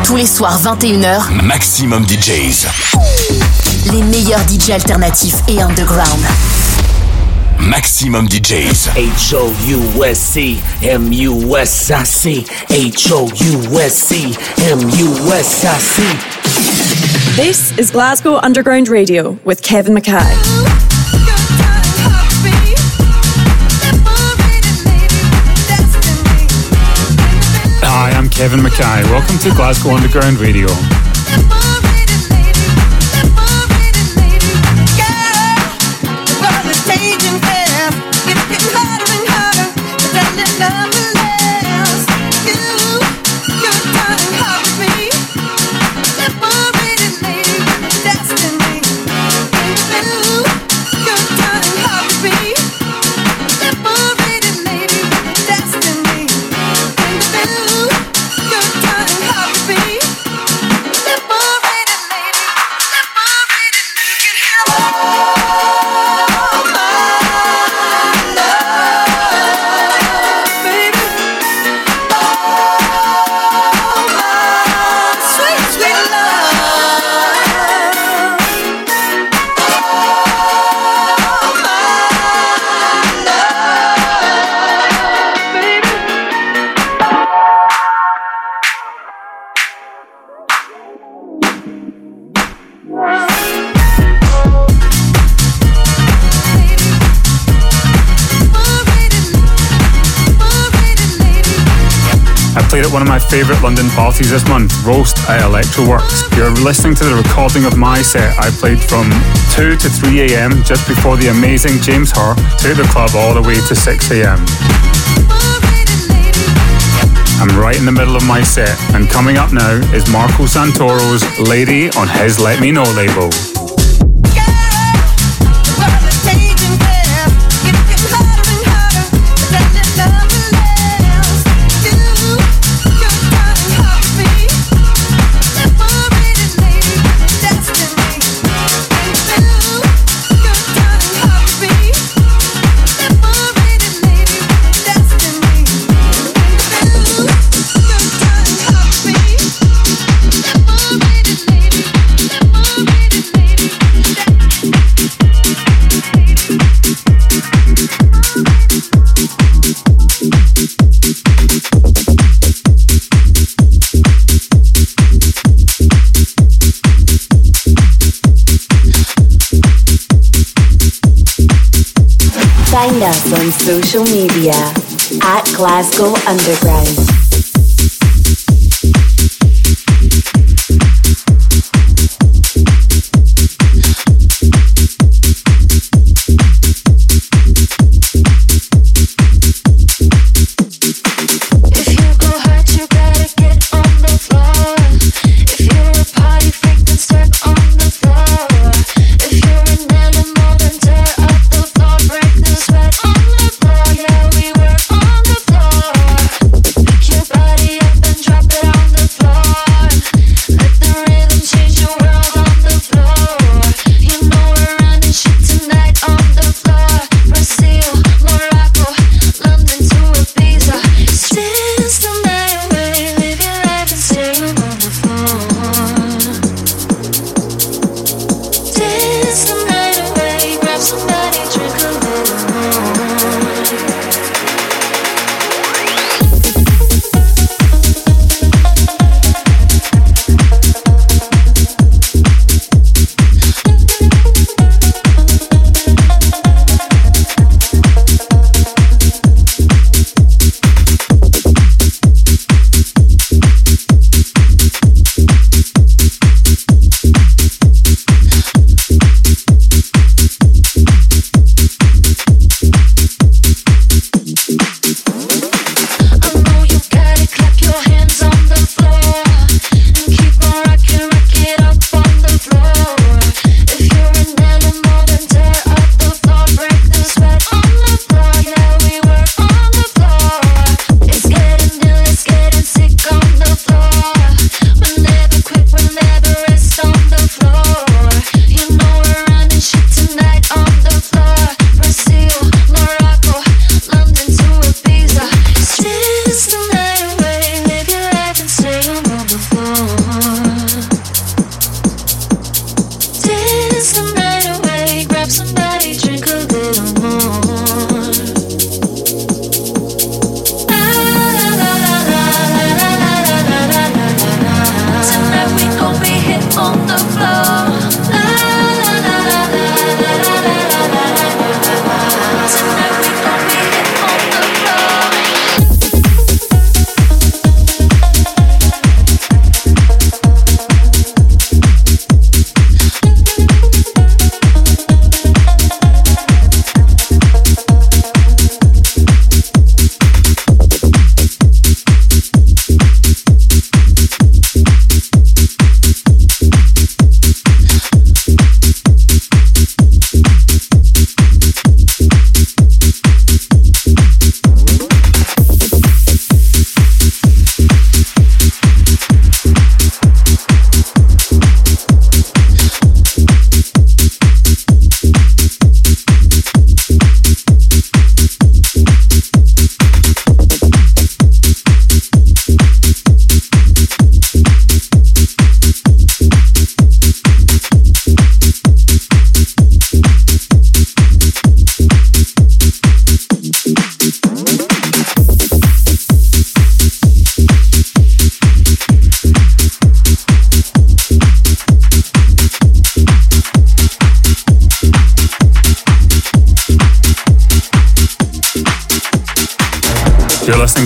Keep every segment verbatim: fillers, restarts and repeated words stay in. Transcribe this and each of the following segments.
Tous les soirs vingt et une heures, Maximum D Js. Les meilleurs D J alternatifs et underground. Maximum D Js. H O U S C M U S I C H O U S C M U S I C. This is Glasgow Underground Radio with Kevin Mackay. Hi, I'm Kevin Mackay. Welcome to Glasgow Underground Radio. Played at one of my favourite London parties this month, Roast at Electroworks. You're listening to the recording of my set. I played from two to three a.m. just before the amazing James Hurr took the club all the way to six a.m. I'm right in the middle of my set, and coming up now is Marco Santoro's Lady on his Let Me Know label. Find us on social media at Glasgow Underground. Keep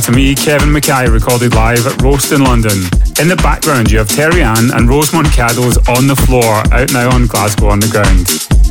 to me, Kevin Mackay, recorded live at Roast in London. In the background, you have Terry Ann and Rosemont Caddo's On the Floor, out now on Glasgow Underground.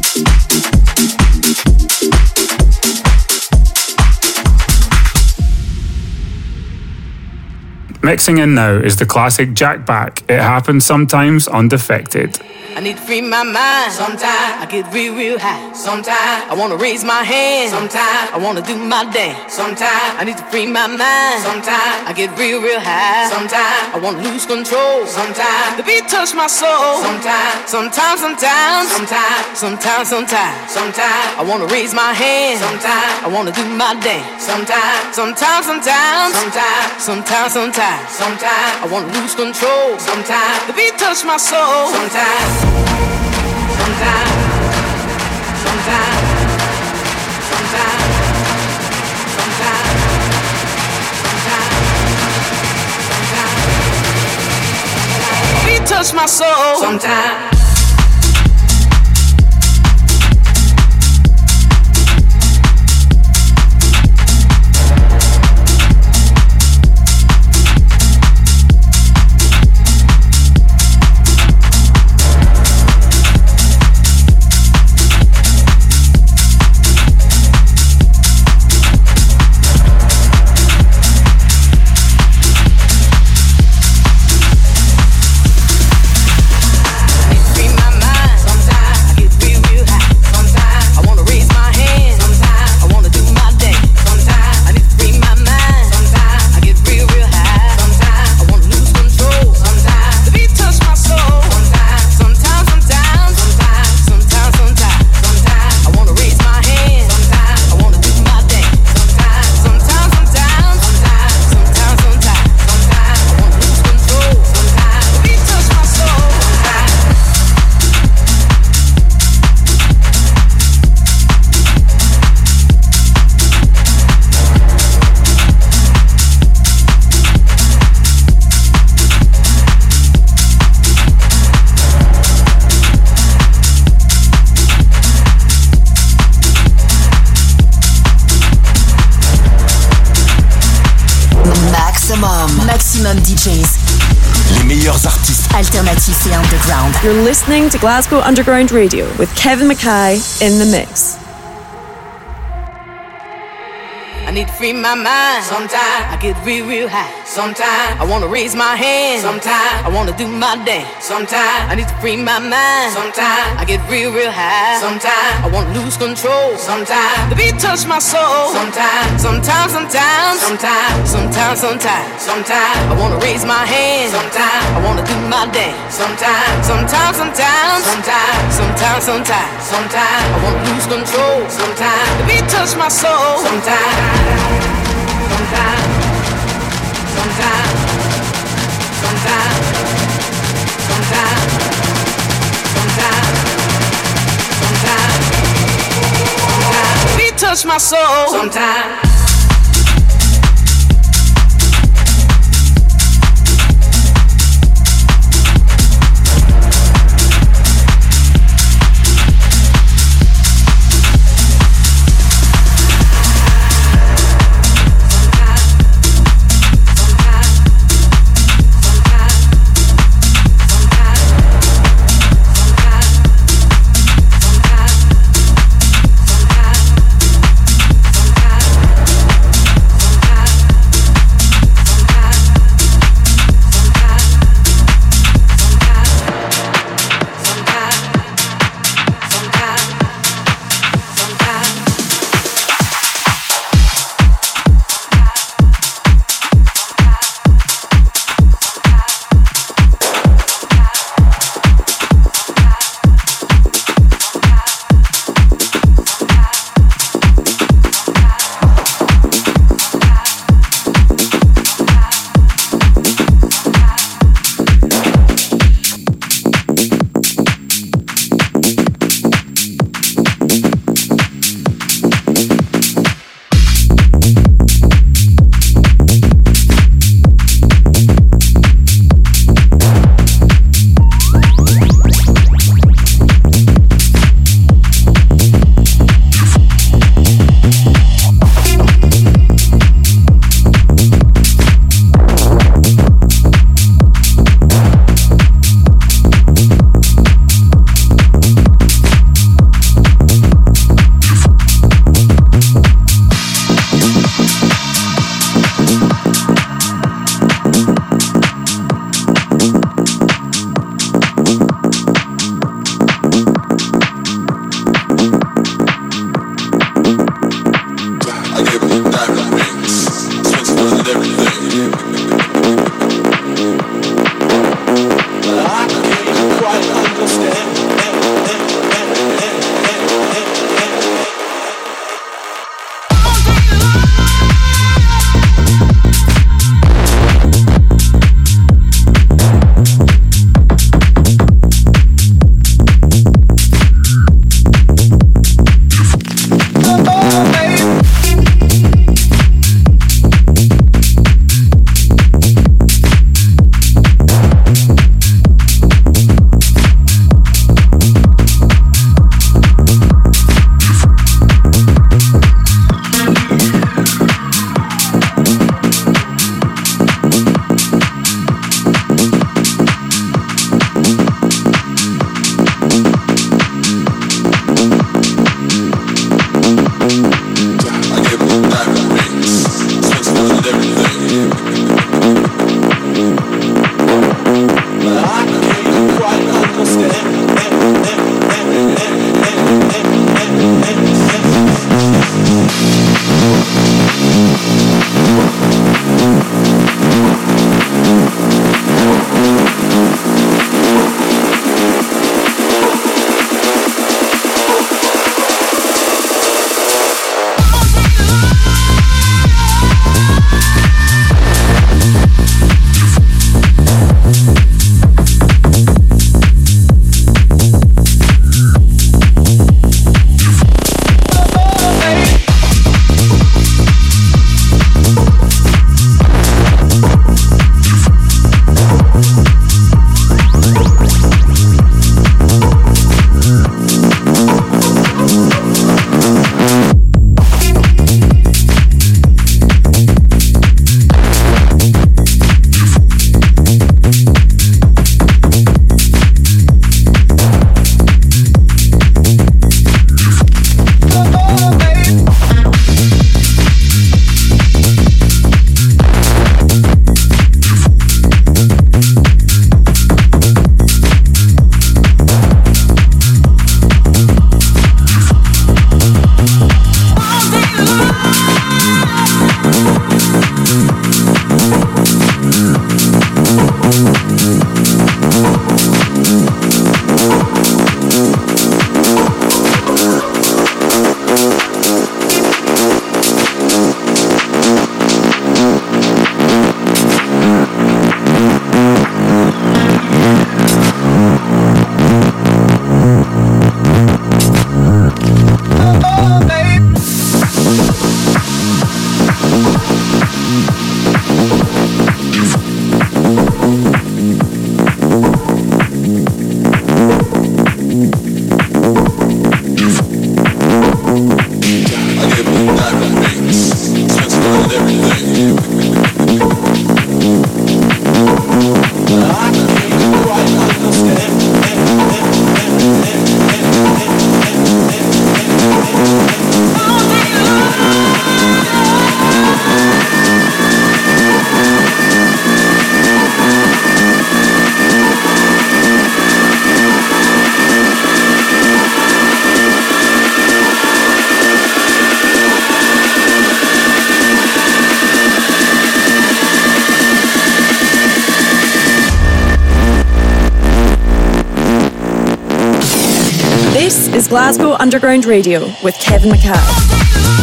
Mixing in now is the classic Jack Back. It happens sometimes on Defected. I need to free my mind. Sometimes I get real, real high. Sometimes I wanna raise my hand. Sometimes I wanna do my dance. Sometimes I need to free my mind. Sometimes I get real, real high. Sometimes I wanna lose control. Sometimes the beat touch my soul. Sometimes, sometimes, sometimes, sometimes, sometimes, sometimes, sometimes I wanna raise my hand. Sometimes I wanna do my dance. Sometimes, sometimes, sometimes, sometimes, sometimes, sometimes, sometimes I wanna lose control. Sometimes the beat touch my soul. Sometimes. Sometimes, sometimes, sometimes, sometimes, sometimes, we touch my soul. Sometimes. Maximum D Js. Les meilleurs artistes alternatifs et underground. You're listening to Glasgow Underground Radio with Kevin Mackay in the mix. I need to free my mind. Sometimes I get real, real high. Sometimes I wanna raise my hand. Sometimes I wanna do my dance. Sometimes I need to free my mind. Sometimes I get real, real high. Sometimes I wanna lose control. Sometimes the beat touch my soul. Sometimes, sometimes, sometimes, sometimes, sometimes, sometimes, sometimes I wanna raise my hand. Sometimes I wanna do my dance. Sometimes, sometimes, sometimes, sometimes, sometimes, sometimes, sometimes I wanna lose control. Sometimes the beat touch my soul. Sometimes. Sometimes, sometimes, sometimes, sometimes, sometimes, sometimes, sometimes, we touch my soul. Sometimes. Is Glasgow Underground Radio with Kevin McCall.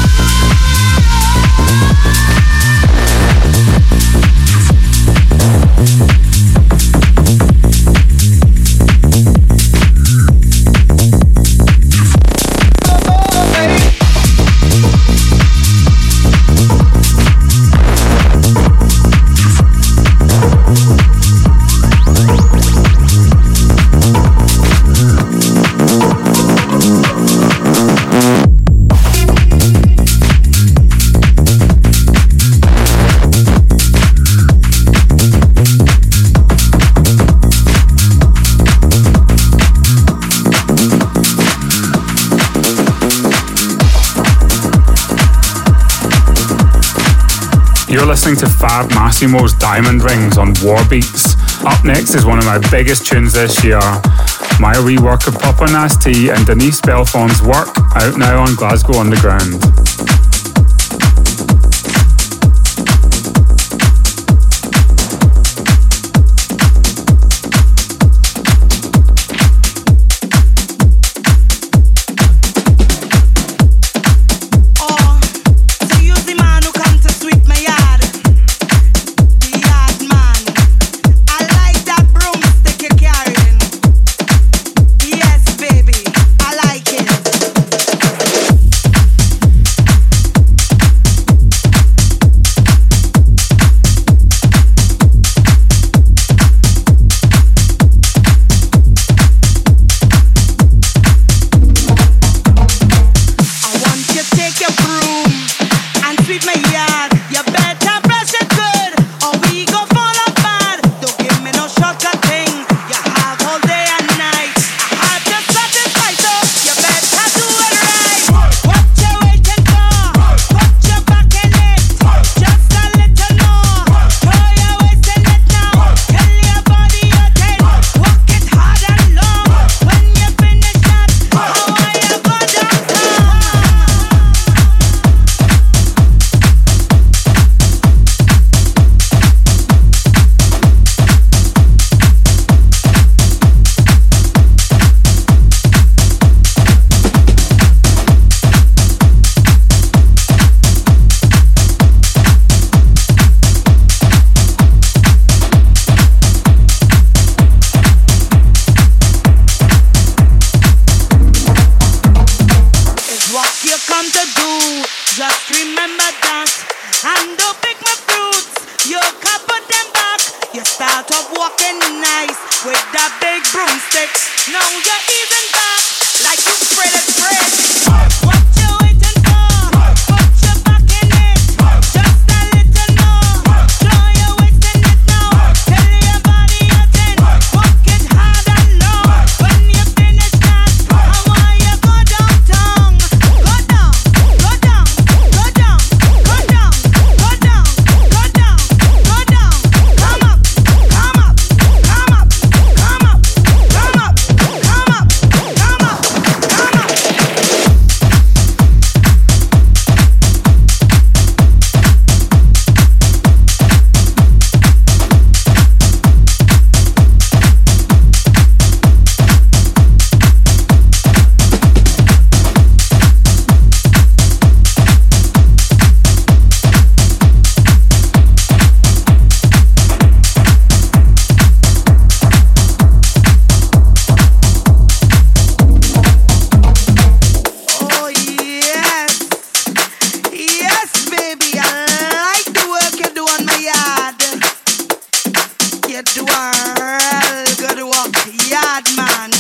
You're listening to Fab Massimo's Diamond Rings on Warbeats. Up next is one of my biggest tunes this year, my rework of Papa Nasty and Denise Belfon's work, out now on Glasgow Underground. get the world, good walk, yard man.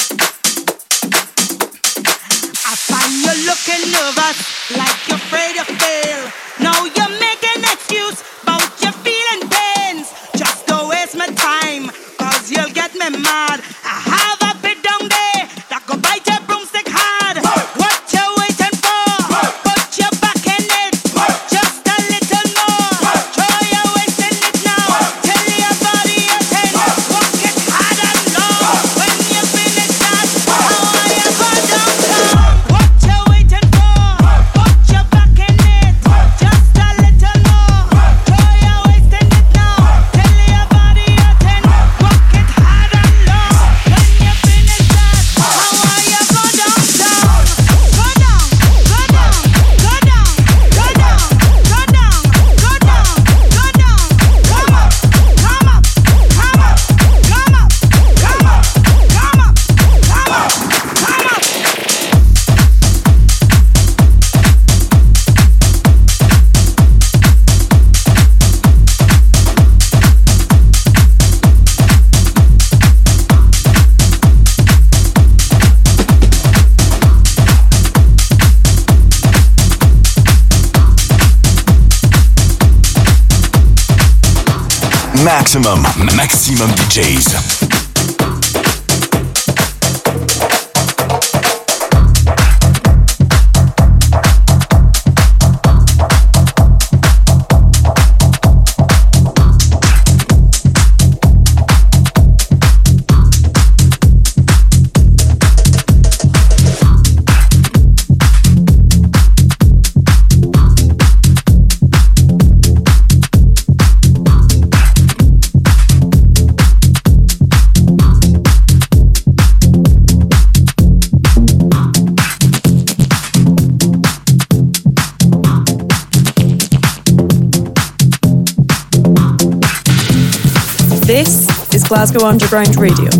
I find you looking nervous, like you're afraid to fail. Now you're making excuse about your feeling pains. Just don't waste my time, cause you'll get me mad. I have a bit down there that go bite your broomstick hard. What you waiting for? Put your back in it, just a little more. Try your waist in it now, till your body is in. Walk it hard and low. When you finish that, how are you go downtown? What you waiting for? Put your back in it, just a little more. Try your waist in it now, till your body is in. Walk it hard and low. When you finish that, how are you go downtown? Go down, go down, go down, go down, go down, go down, go down. Come up, come up, come up, come up, come up, come up, come up, come up. Maximum, maximum D Js. This is Glasgow Underground Radio.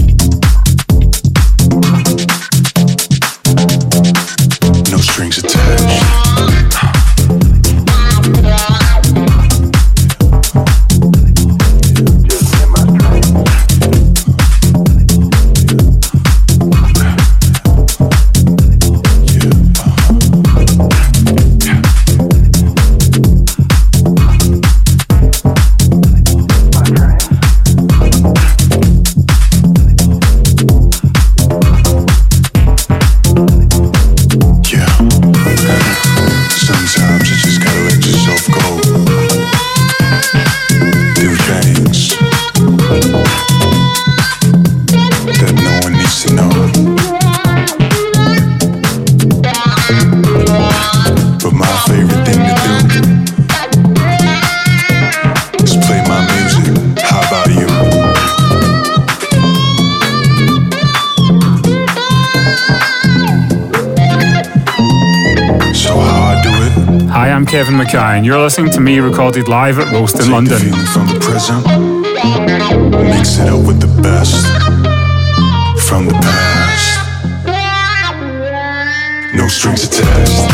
No strings attached. I am Kevin Mackay, and you're listening to me recorded live at Roast in Take London. The feeling from the present, mix it up with the best from the past. No strings attached.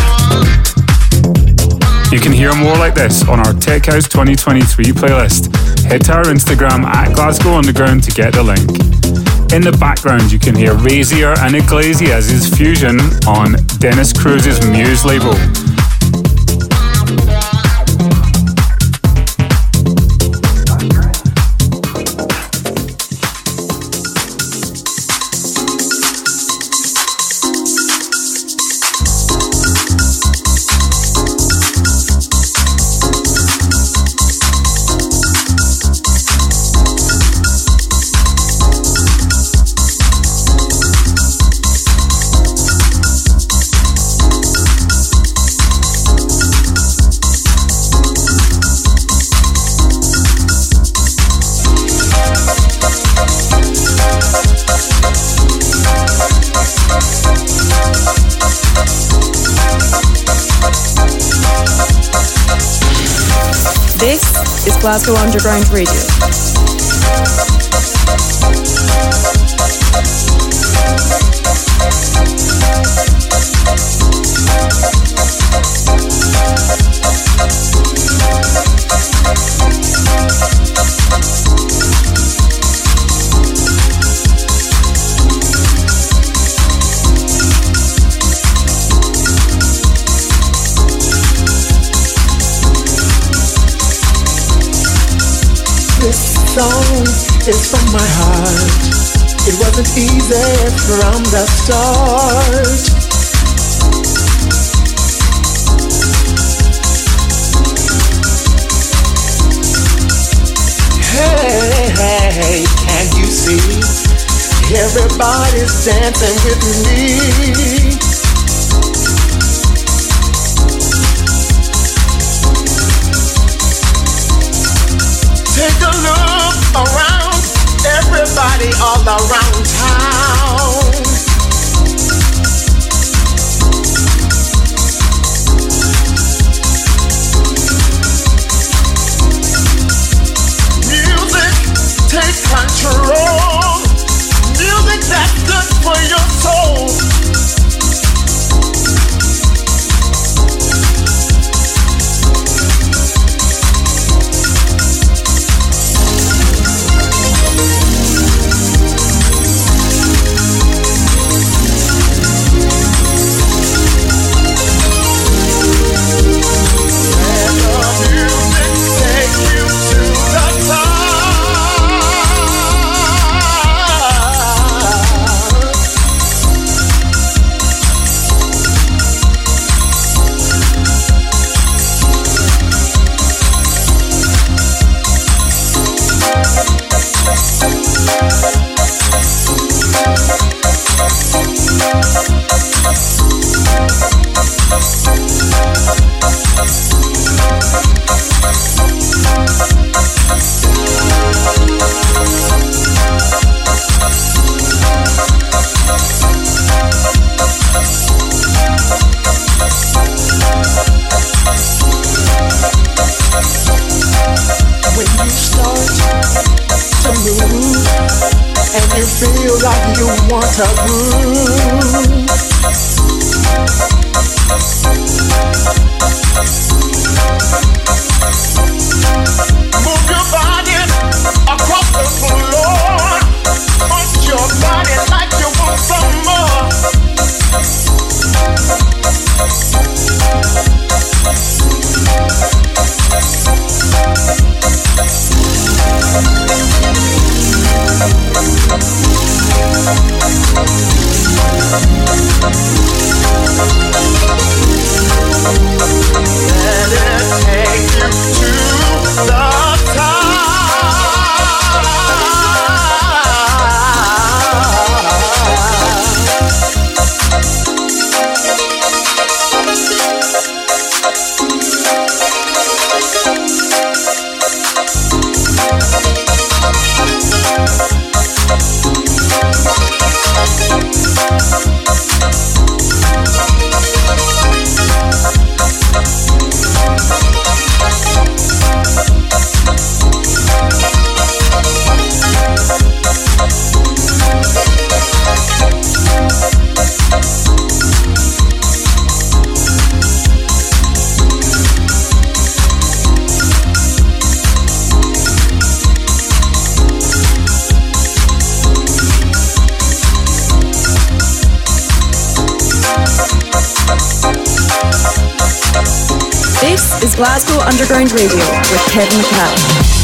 You can hear more like this on our Tech House twenty twenty-three playlist. Head to our Instagram at Glasgow Underground to get the link. In the background, you can hear Razier and Iglesias' fusion on Dennis Cruz's Muse label. Glasgow Underground Radio. Song is from my heart. It wasn't easy from the start. Hey, hey, can you see? Everybody's dancing with me. Take a look around, everybody all around town. Music, take control. Music that's good for your soul. Like you want to groove. Move your body across the floor. Punch your body like you want some more. We'll be right back. This is Glasgow Underground Radio with Kevin McKay.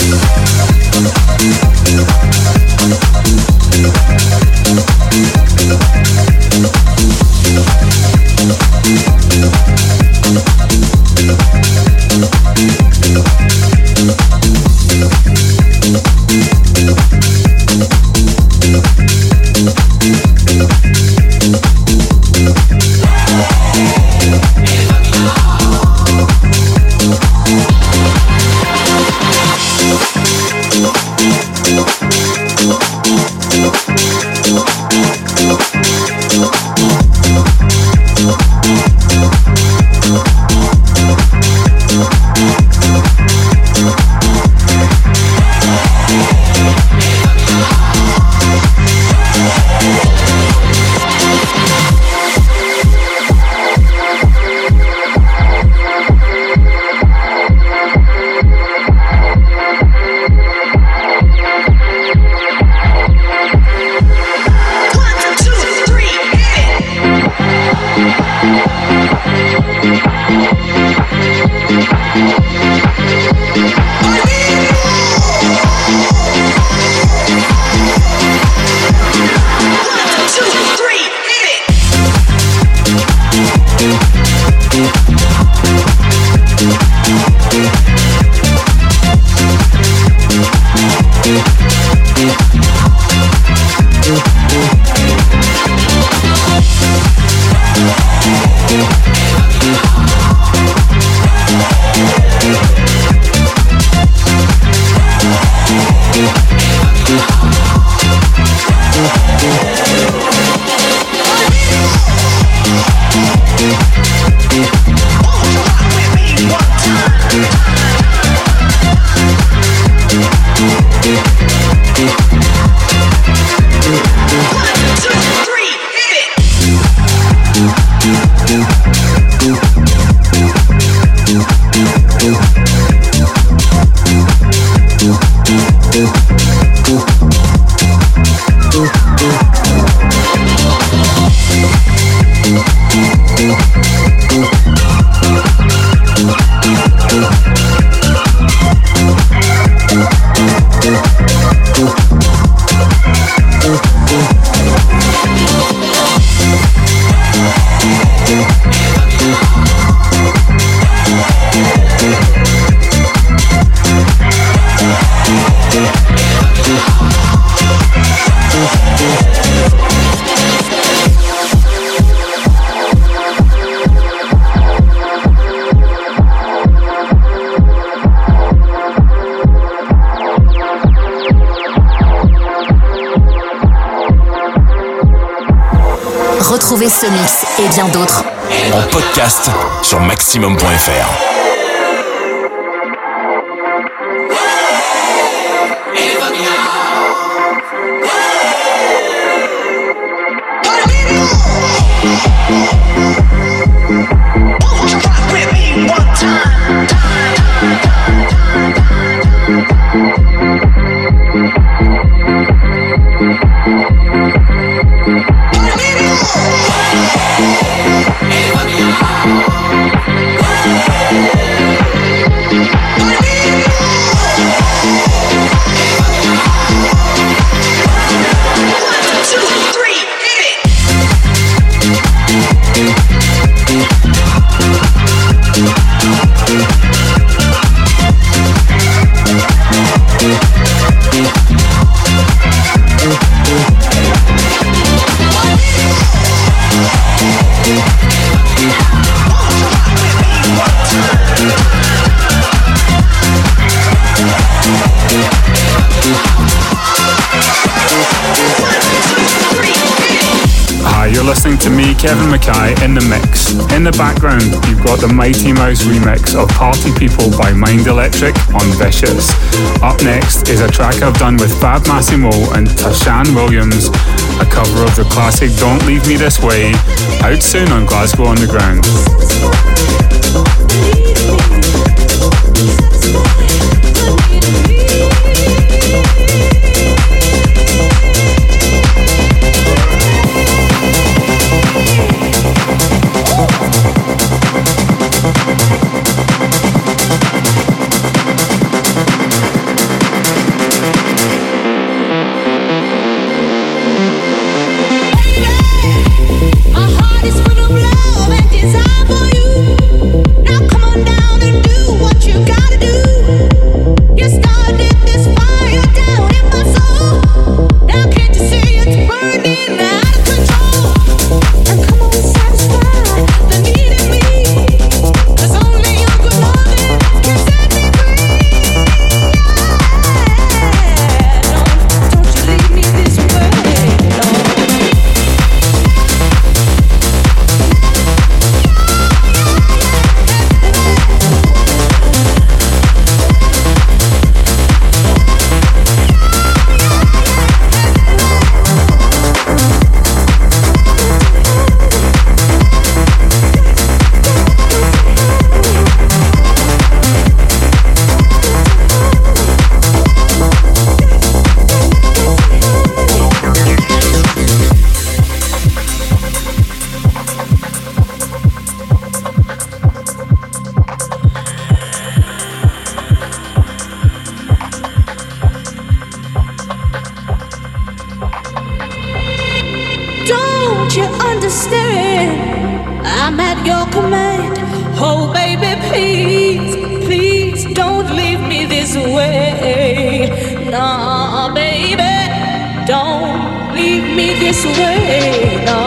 Retrouvez ce mix et bien d'autres en podcast sur maximum point f r. You're listening to me, Kevin McKay, in the mix. In the background, you've got the Mighty Mouse remix of Party People by Mind Electric on Vicious. Up next is a track I've done with Fab Massimo and Tashan Williams, a cover of the classic Don't Leave Me This Way, out soon on Glasgow Underground. Oh, Don't you understand? I'm at your command. Oh, baby, please, please don't leave me this way. No, baby, don't leave me this way. No,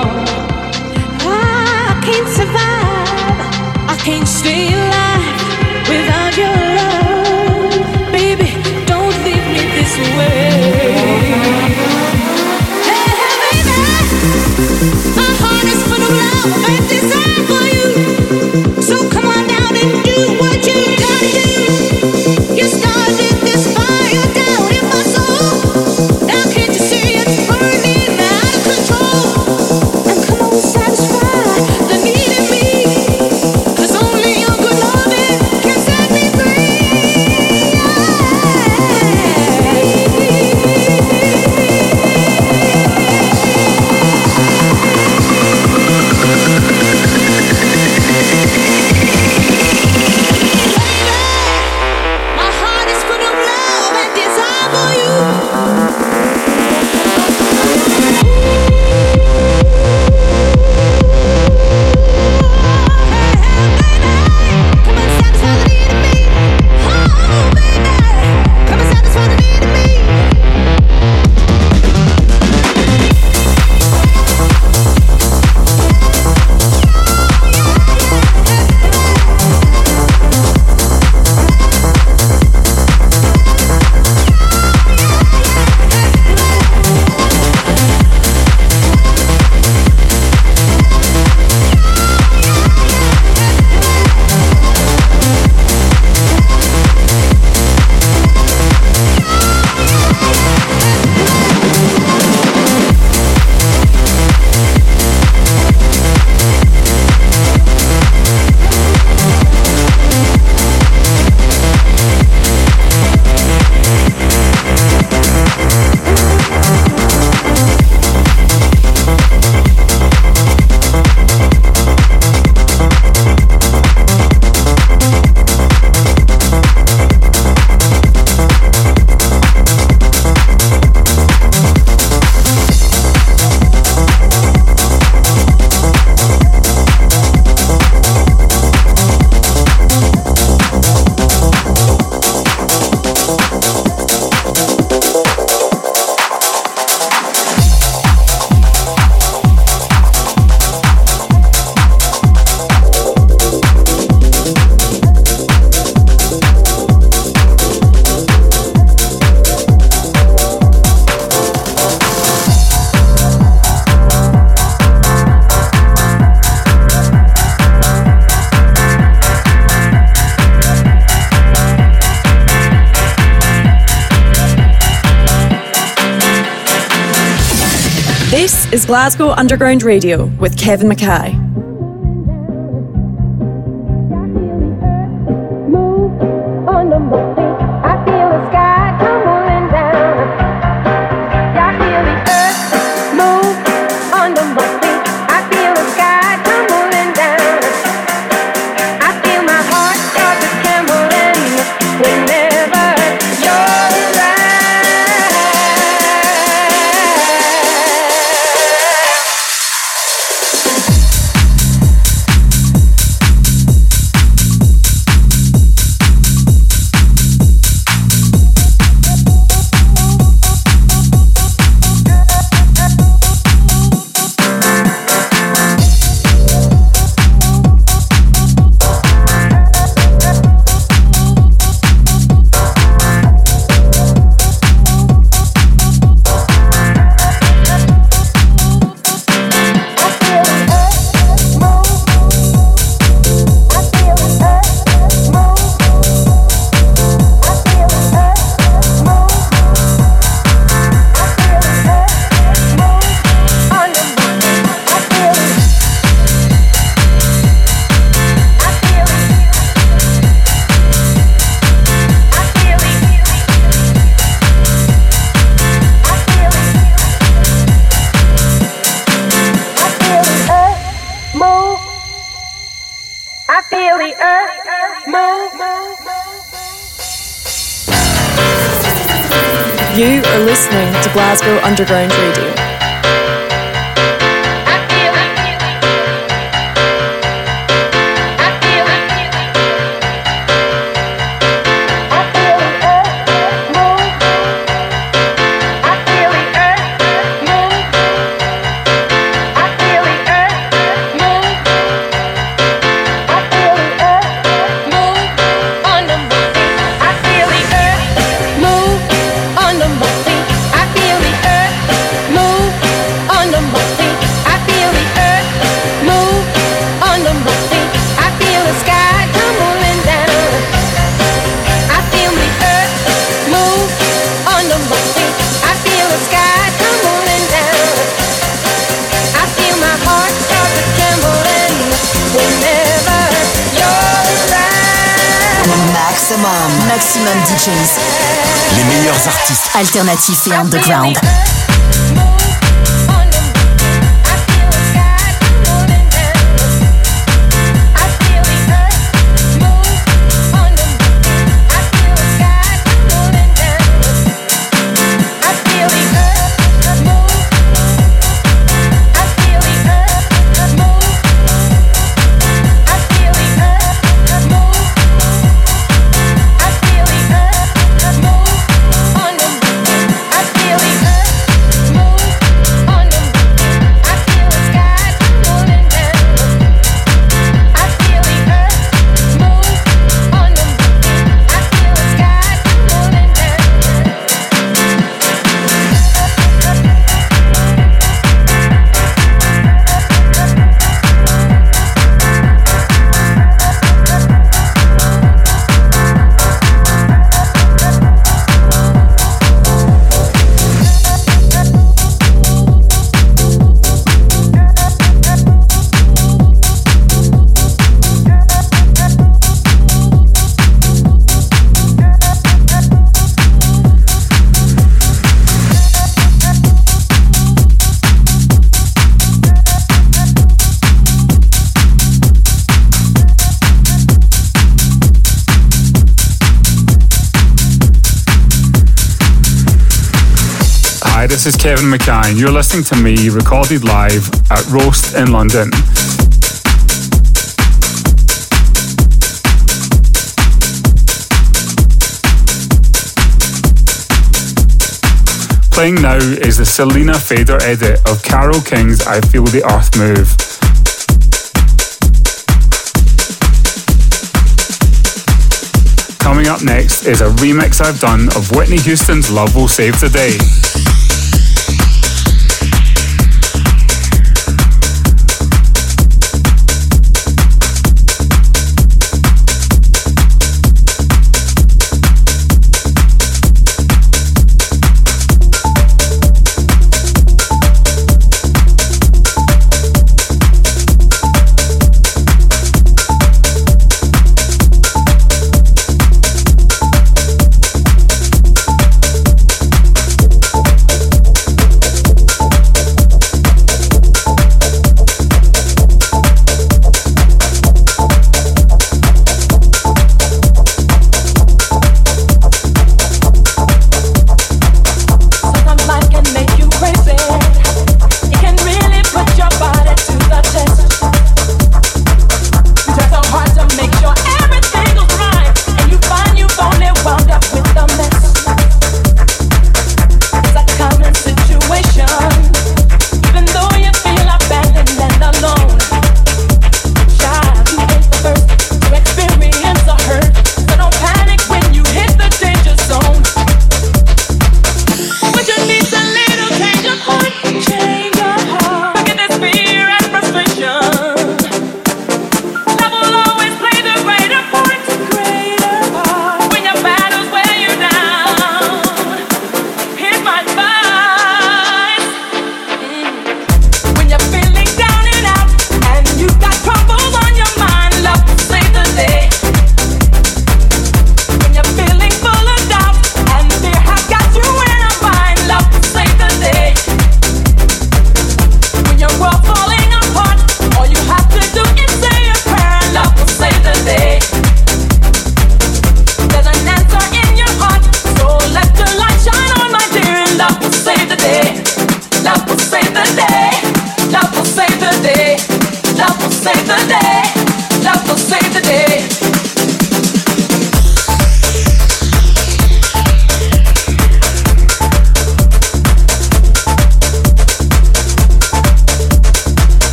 I can't survive. I can't stay alive without your love. Baby, don't leave me this way. My heart is full of love and desire for you. So come on down and do what you gotta do. You started this fire down in my soul. Now can't you see it's burning out of control? And come on, satisfy the need in me. 'Cause only your good loving can set me free. This is Glasgow Underground Radio with Kevin Mackay. You are listening to Glasgow Underground Radio. I whenever you're around. Maximum, maximum D Js. Les meilleurs artistes Alternatifs et underground. This is Kevin McKay. You're listening to me recorded live at Roast in London. Playing now is the Selena Fader edit of Carole King's I Feel the Earth Move. Coming up next is a remix I've done of Whitney Houston's Love Will Save the Day.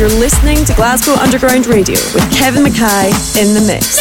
You're listening to Glasgow Underground Radio with Kevin Mackay in the mix.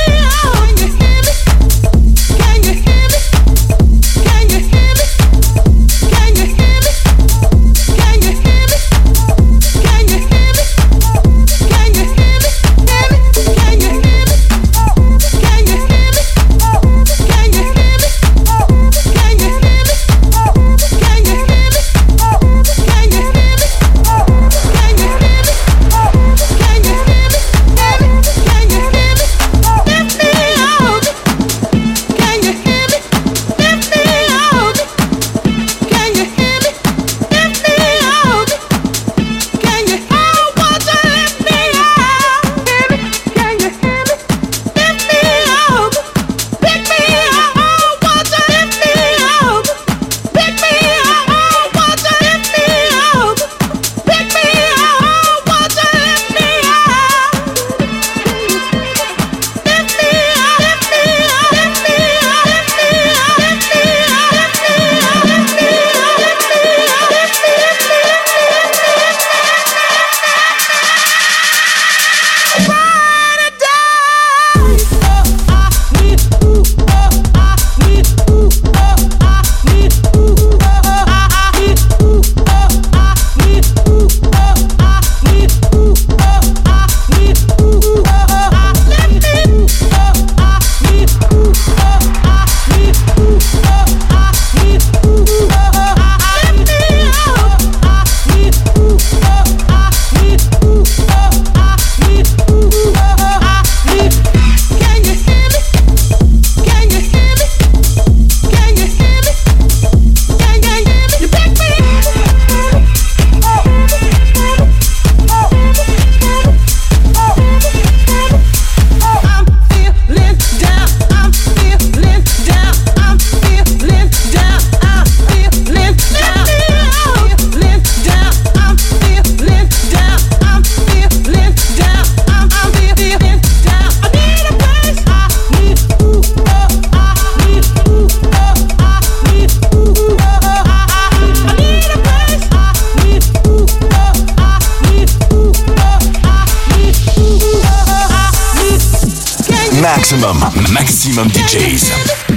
Maximum, maximum D Js.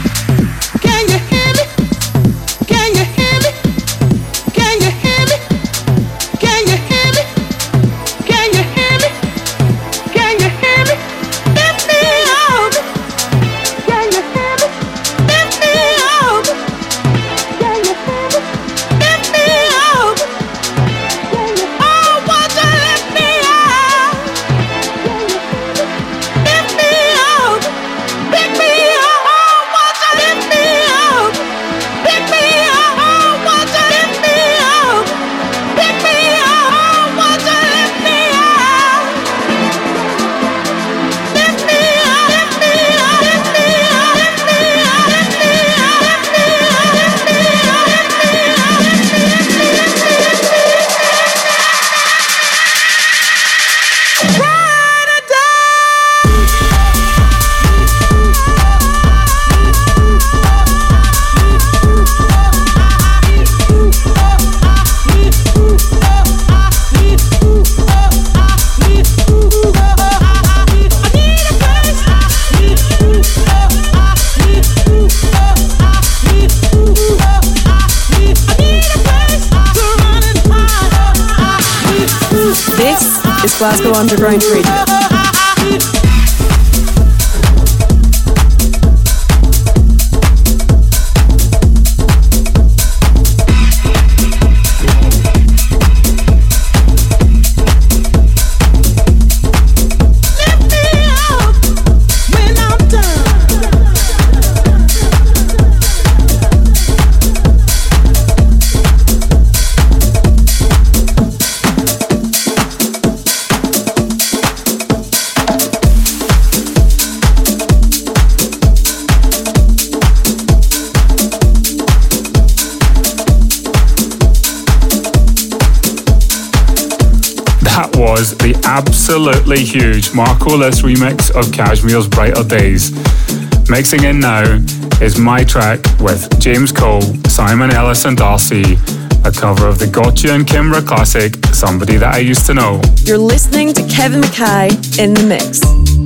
Glasgow Underground Radio. Was the absolutely huge Marco Lys remix of Cashmere's Brighter Days. Mixing in now is my track with James Cole, Simon Ellis and Darcy, a cover of the Gotcha and Kimbra classic, Somebody That I Used to Know. You're listening to Kevin Mackay in the mix.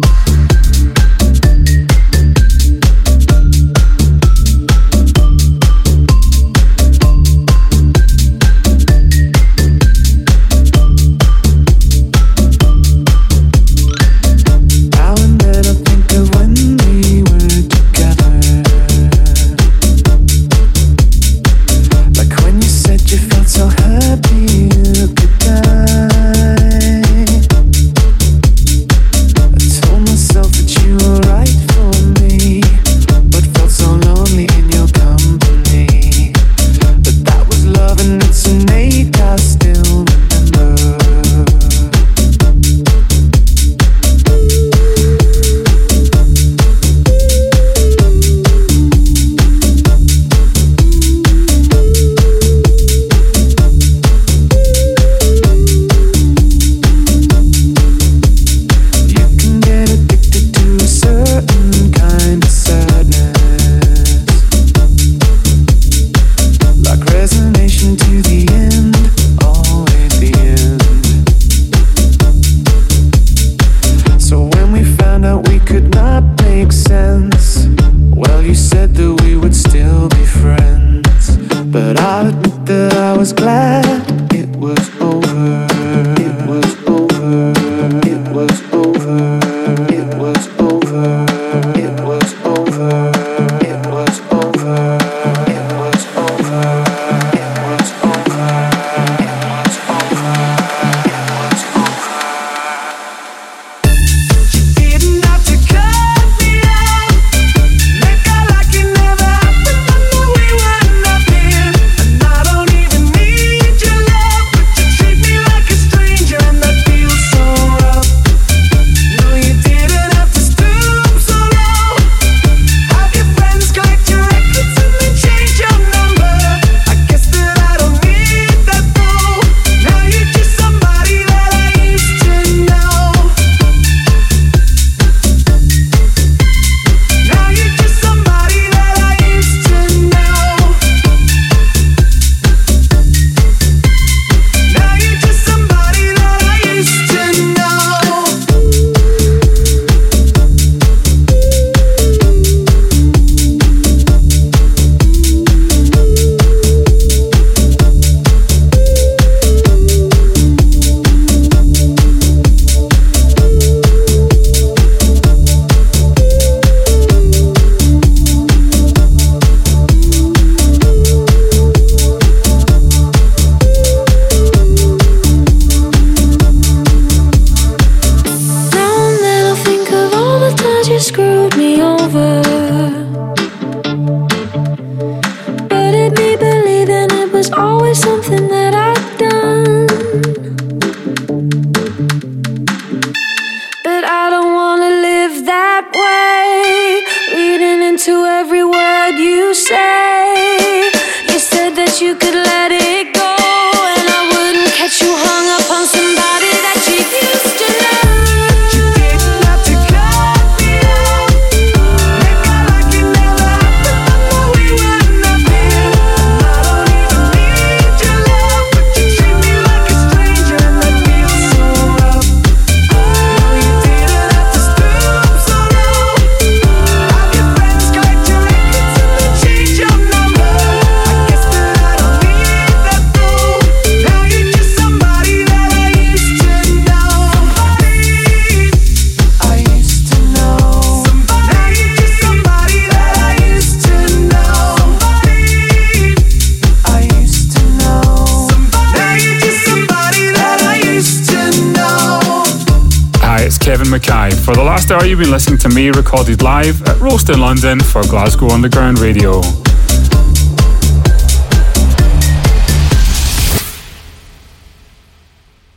Kevin Mackay. For the last hour, you've been listening to me recorded live at Roast in London for Glasgow Underground Radio.